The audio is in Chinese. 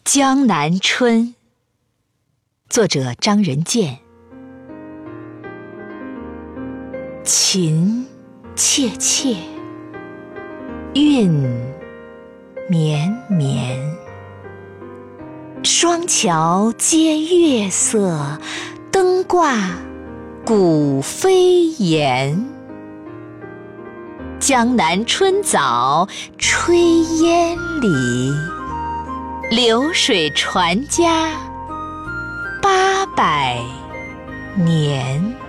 江南春，作者张仁健。情切切，韵绵绵，双桥接月色，灯挂古飞檐。江南春早，炊烟里，流水传家800年。